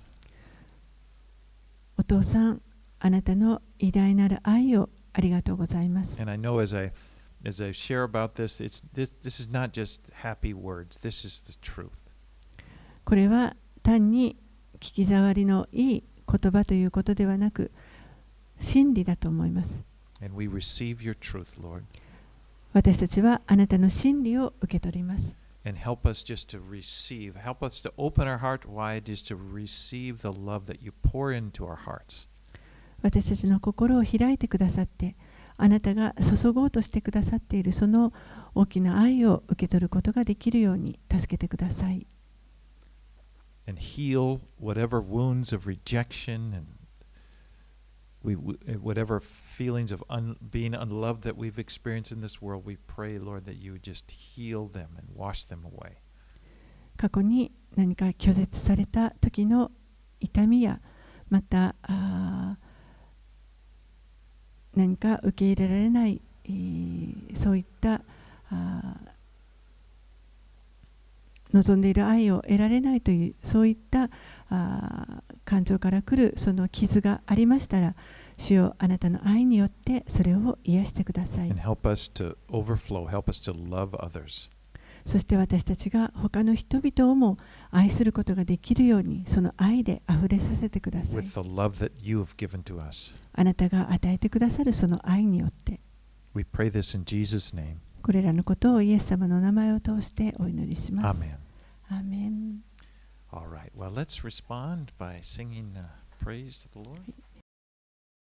お父さん、あなたの偉大なる愛をありがとうございます。 And I know as I as I share about this, it's this this is not just happy words. This is the truth. これは単に聞き障りのいい言葉ということではなく、真理だと思います。 And we receive your truth, Lord. 私たちはあなたの真理を受け取ります。 And help us just to receive, help us to open our heart wide just to receive the love that you pour into our hearts. 私たちの心を開いてくださって、あなたが注ごうとしてくださっているその大きな愛を受け取ることができるように助けてください。 And heal whatever wounds of rejection and we, whatever feelings of un, being unloved that we've experienced in this world, we pray, Lord, that you would just heal them and wash them away. 過去に何か拒絶された時の痛みや、またあ何か受け入れられない、えー、そういったあ望んでいる愛を得られないというそういったあ感情から来るその傷がありましたら、主よあなたの愛によってそれを癒してください。 And help us to overflow, help us to love others. そして私たちが他の人々をも愛することができるように、その愛であふれさせてください。 With the love that you have given to us. あなたが与えてくださるその愛によって。 We pray this in Jesus' name. これらのことをイエス様の名前を通してお祈りします。 Amen. アーメン。 All right. Well, let's respond by singing uh, praise to the Lord.